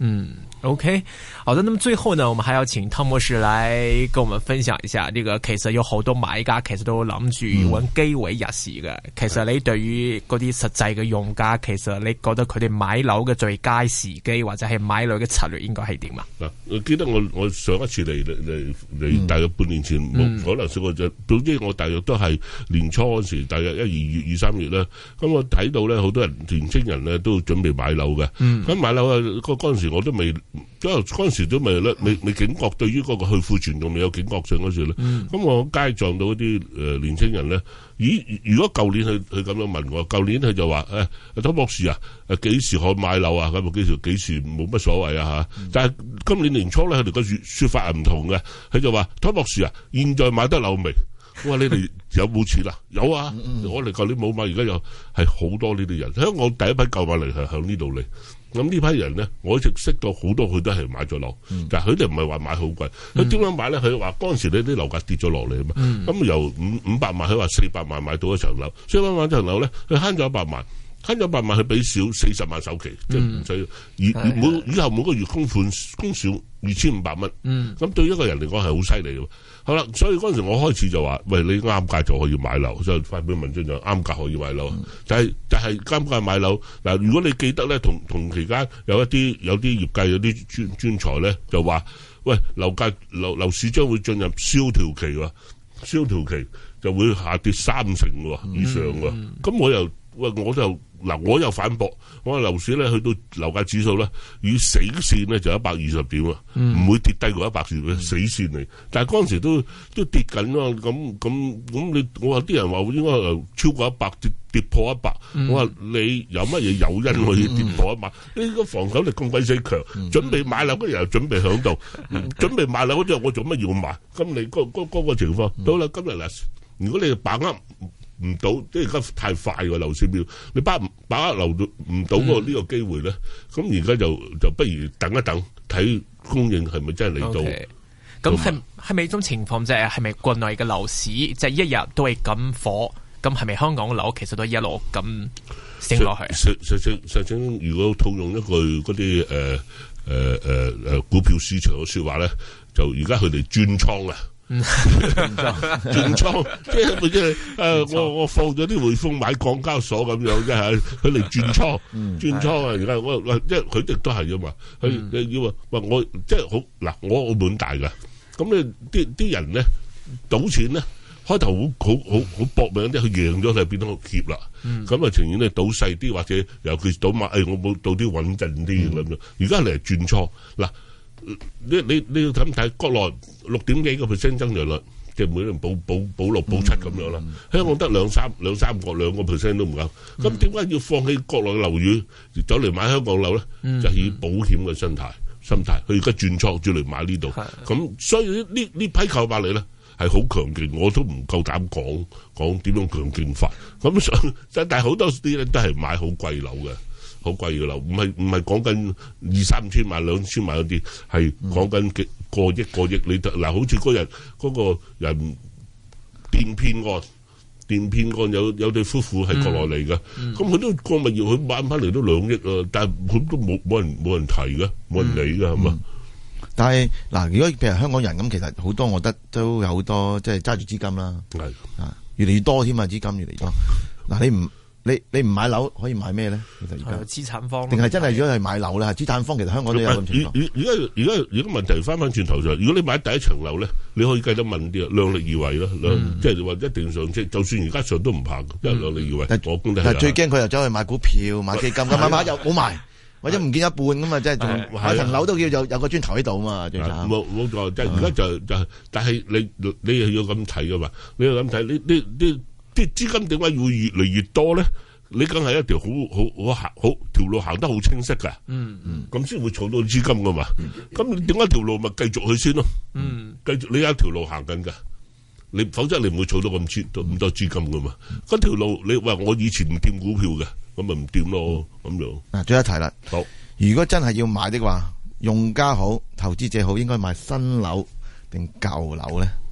嗯。OK， 好的。那麼最後呢，我們還要請湯博士來跟我們分享一下，呢個其實有好多買家其實都諗住揾機會入市嘅。嗯、其實你對於嗰啲實際嘅用家，其實你覺得佢哋買樓嘅最佳時機或者係買樓嘅策略應該係點啊？嗱， 我記得我我上一次嚟嚟嚟大約半年前，冇、嗯、可能試過就，總之我大約都係年初嗰時，大約一二月、二三月啦。咁我睇到咧，好多人年青人咧都準備買樓嘅。咁、嗯、買樓啊，嗰嗰陣時我都未。因為嗰陣時都未咧，未未警覺，對於嗰個去庫存仲未有警覺性嗰時咧。咁、嗯、我街撞到啲誒年青人咧，咦？如果舊年佢佢咁樣問我，舊年佢就話誒，湯博士啊，誒幾時可以買樓啊？咁啊幾時幾時冇乜所謂啊嚇？嗯、但係今年年初咧，佢哋個説説法係唔同嘅。佢就話湯博士啊，現在買得樓未？我話你哋有冇錢啊？有啊！嗯、我哋舊年冇買，而家有係好多呢啲人。香港第一批購買嚟係向呢度嚟。咁呢批人咧，我一直識到好多，佢都係買咗樓，嗯、但係佢哋唔係話買好貴。佢點樣買咧？佢話嗰陣時呢啲樓價跌咗落嚟啊嘛。咁、嗯、由五五百萬，佢話四百萬買到一層樓，四百萬一層樓咧，佢慳咗一百萬，慳咗一百萬，佢俾少四十萬首期，即係唔使。而每以後每個月供款供少二千五百蚊。咁、嗯、對於一個人嚟講係好犀利嘅。好啦，所以嗰陣時我開始就話，喂，你啱價就可以買樓，所以發表文章就啱價可以買樓。嗯、但係但係啱價買樓嗱，如果你記得咧，同同期間有一啲有啲業界有啲專專才咧就話，喂，樓價樓樓市將會進入蕭條期喎，蕭條期就會下跌三成喎以上喎。咁、嗯、我又喂我就嗱我又反駁，我話樓市咧去到樓價指數咧，與死線咧就一百二十點啊，唔、嗯、會跌低過一百點嘅死線嚟。但係嗰陣時都都跌緊咯，咁咁咁你我話啲人話應該超過一百跌跌破一百、嗯，我話你有乜嘢誘因可以跌破一百？呢個防守力咁鬼死強，準備買樓嗰啲人又準備響度，嗯、準備買樓嗰啲我做乜要買？咁你嗰嗰嗰個情況，到啦今日嗱，如果你把握唔到，即係而家太快個樓市表，你把把握留到唔到個呢個機會咧，咁而家就就不如等一等，睇供應係咪真係嚟到。咁係係咪呢種情況即係係咪國內嘅樓市即係、就是、一日都係咁火？咁係咪香港嘅樓其實都一路咁升落去？實實實實情，如果套用一句嗰啲誒誒誒誒股票市場嘅説話咧，就而家佢哋轉倉啊！轉倉，即係即係誒，我我放咗啲匯豐買港交所咁樣，即係佢嚟轉倉，轉倉啊！而家我即係佢哋都係噶嘛，佢要話話我即係好嗱，我澳門大噶，咁你啲啲人咧賭錢咧，開頭好好好好搏命啲，佢贏咗就變到怯啦，咁啊情願咧賭細啲，或者尤其賭馬，誒我冇賭啲穩陣啲咁樣，而家嚟轉倉嗱。你你你要睇睇國內六點幾個 percent 增長率，即係每年保保保六保七咁樣啦。嗯嗯、香港得兩三兩三個兩個 percent 都唔夠，咁點解要放棄國內樓宇走嚟買香港樓咧？嗯、就係以保險嘅心態心態，佢而家轉倉轉嚟買呢度，咁的所以呢呢批購買力咧係好強勁，我都唔夠膽講講點樣強勁法。咁上但係好多啲咧都係買好貴樓嘅。好貴嘅樓，唔係唔係講緊二三千萬、兩千萬嗰啲，係講緊幾個億個億。你嗱，好似嗰日嗰個人電騙案，電騙案有有對夫婦係國內嚟嘅，咁佢都個物業佢買翻嚟都兩億啊，但係佢都冇冇人冇人提嘅，冇人理嘅係嘛？ 但係嗱，如果譬如香港人咁，其實好多，我覺得都有好多即係揸住資金啦，係啊，越嚟越多添啊，資金越嚟越多。嗱，你唔你你唔買樓可以買咩咧？其實而家資產方，定係真係如果係買樓咧？資產方其實香港都有咁情況。而而家而家而家問題翻翻轉頭就係，如果你買第一層樓咧，你可以計得問啲啊，量力而為啦，即係話一定上車，就算而家上都唔怕，因為量力而為。但係最驚佢又走去買股票、買基金，咁買買又冇賣，或者唔見一半咁啊！即係仲買層樓都叫有有個磚頭喺度啊嘛，最慘。冇冇錯，即係而家就就，但係你你又要咁睇噶嘛？你要咁睇，呢呢呢。啲資金點解會越嚟越多咧？你梗係一條好好好行好條路行得好清晰㗎，嗯嗯，咁先會儲到資金㗎嘛。咁你點解條路咪繼續去先咯？嗯，繼續你有一條路行緊㗎，你否則你唔會儲到咁錢咁多資金㗎嘛。嗰條路你話我以前唔掂股票嘅，咁咪唔掂咯咁樣。嗱，最後一題啦。好，如果真係要買的話，用家好，投資者好，應該買新樓定舊樓咧？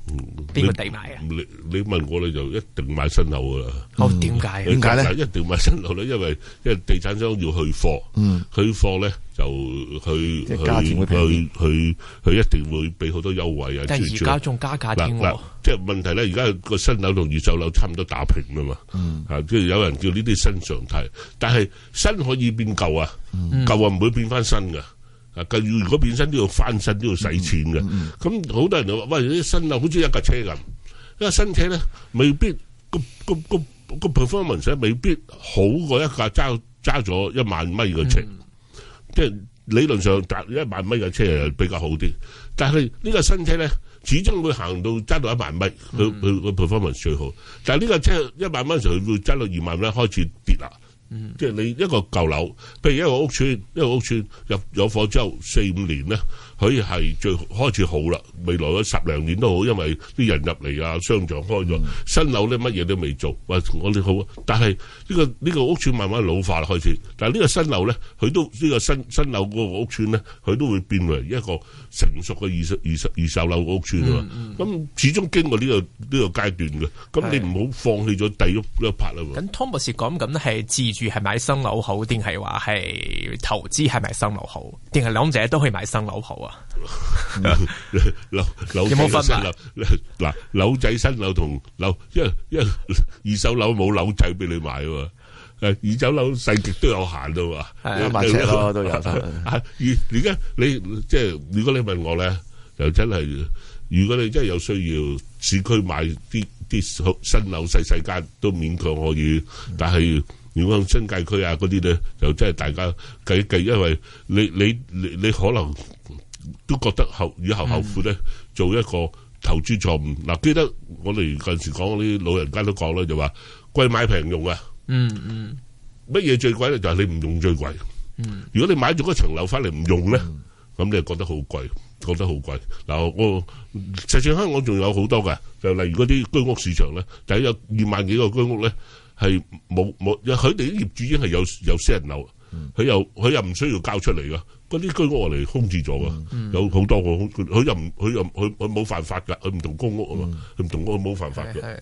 邊個地買啊？ 你你問我你就一定買新樓噶啦。 哦，點解？ 點解咧？ 一定買新樓咧，因為因為地產商要去貨，嗯，去貨咧就去去去去去一定會俾好多優惠啊。 但係而家仲加價添喎。 即係問題咧，而家個新樓同二手樓差唔多打平啦嘛。嗯，啊，即係有人叫呢啲新常態，但係新可以變舊啊，舊啊唔會變翻新噶。啊！如果變身都要翻身，都要使錢嘅。咁好多人就話：喂，啲新樓好似一架車咁，因為新車咧未必個個個個 performance 未必好過一架揸揸咗一萬米嘅車。即係理論上揸一萬米嘅車係比較好啲，但係呢個新車咧始終會行到揸到一萬米，佢佢個 performance 最好。但係呢個車一萬米嘅時候，佢會揸到二萬米開始跌啦。嗯，即係你一個舊樓，譬如一個屋邨，一個屋邨入有貨之後四五年咧，佢係最開始好啦。未來嗰十零年都好，因為啲人入嚟啊，商場開咗，新樓咧乜嘢都未做，喂，我哋好。但係呢個呢個屋邨慢慢老化啦，開始。但係呢個新樓咧，佢都呢個新新樓嗰個屋邨咧，佢都會變為一個成熟嘅二手二手二手樓屋邨啊嘛。咁始終經過呢個呢個階段嘅，咁你唔好放棄咗第一一 part 啦。 咁湯博士講緊係自住係買新樓好，定係話係投資係買新樓好，定係兩者都可以買新樓好啊？ 樓樓有冇分啊？嗱，樓仔新樓同樓，因為因為二手樓冇樓仔俾你買喎，誒，二手樓細極都有限噶嘛， 一萬尺咯都有。 而而家你即係如果你問我咧，就真係，如果你真係有需要市區買啲啲新樓細細間都勉強可以，但係如果新界區啊嗰啲咧，就真係大家計計，因為你你你你可能都覺得後以後後悔咧，做一個投資錯誤。嗱，記得我哋嗰陣時講啲老人家都講啦，就話貴買平用啊。嗯嗯，乜嘢最貴咧？就係你唔用最貴。嗯，如果你買咗嗰層樓翻嚟唔用咧，咁你就覺得好貴，覺得好貴。嗱，我實際香港仲有好多嘅，就例如嗰啲居屋市場咧，就有二萬幾個居屋咧。係冇冇，佢哋啲業主已經係有有私人樓，佢、嗯、又佢又唔需要交出嚟噶，嗰啲居屋我哋空置咗噶，嗯、有好多個，佢又唔佢又佢佢冇犯法噶，佢唔同公屋啊嘛，佢唔、嗯、同公屋冇犯法嘅。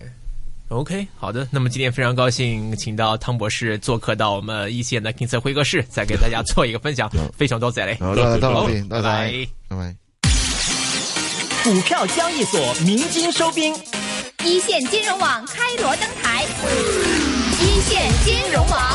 OK， 好的，那麼今天非常高興請到湯博士做客到我們一線的 King Sir 會客室，再給大家做一個分享，非常多謝你， 好，多謝， 好， 拜拜，拜拜。 股票交易所鳴金收兵。一線金融網開鑼登台，一線金融網。